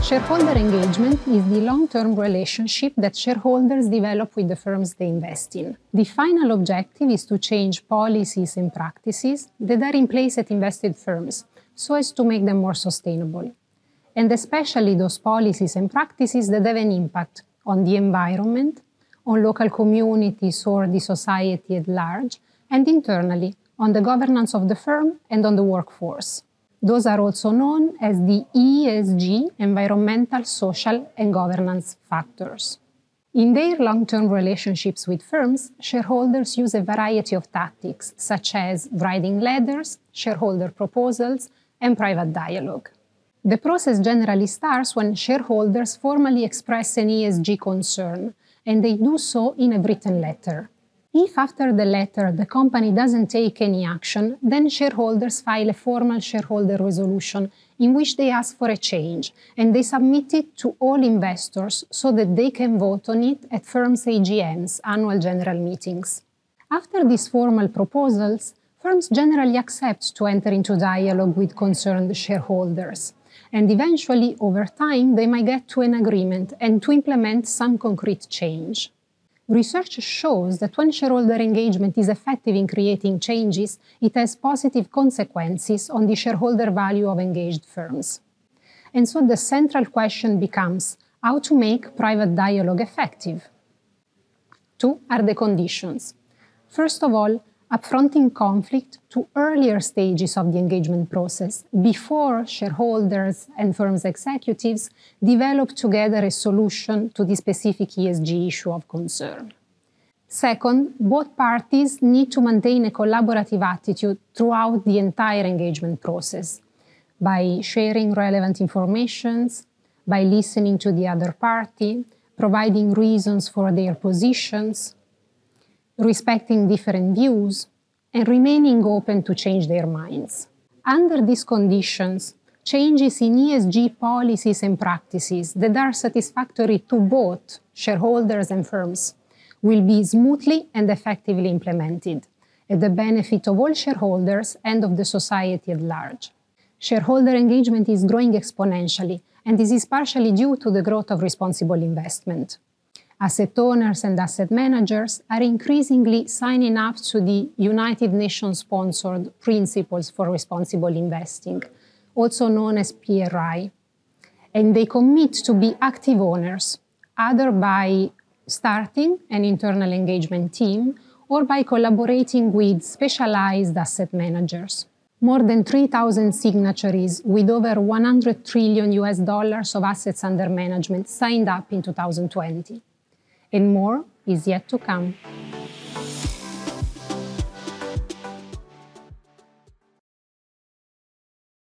Shareholder engagement is the long-term relationship that shareholders develop with the firms they invest in. The final objective is to change policies and practices that are in place at invested firms so as to make them more sustainable, and especially those policies and practices that have an impact on the environment, on local communities or the society at large, and internally on the governance of the firm and on the workforce. Those are also known as the ESG, environmental, social, and governance factors. In their long-term relationships with firms, shareholders use a variety of tactics, such as writing letters, shareholder proposals, and private dialogue. The process generally starts when shareholders formally express an ESG concern, and they do so in a written letter. If after the letter the company doesn't take any action, then shareholders file a formal shareholder resolution in which they ask for a change, and they submit it to all investors so that they can vote on it at firms' AGMs, annual general meetings. After these formal proposals, firms generally accept to enter into dialogue with concerned shareholders, and eventually, over time, they might get to an agreement and to implement some concrete change. Research shows that when shareholder engagement is effective in creating changes, it has positive consequences on the shareholder value of engaged firms. And so the central question becomes how to make private dialogue effective. Two are the conditions. First of all, upfronting conflict to earlier stages of the engagement process, before shareholders and firms' executives develop together a solution to the specific ESG issue of concern. Second, both parties need to maintain a collaborative attitude throughout the entire engagement process, by sharing relevant information, by listening to the other party, providing reasons for their positions, respecting different views, and remaining open to change their minds. Under these conditions, changes in ESG policies and practices that are satisfactory to both shareholders and firms will be smoothly and effectively implemented, at the benefit of all shareholders and of the society at large. Shareholder engagement is growing exponentially, and this is partially due to the growth of responsible investment. Asset owners and asset managers are increasingly signing up to the United Nations-sponsored Principles for Responsible Investing, also known as PRI, and they commit to be active owners, either by starting an internal engagement team or by collaborating with specialized asset managers. More than 3,000 signatories with over $100 trillion of assets under management signed up in 2020. And more is yet to come.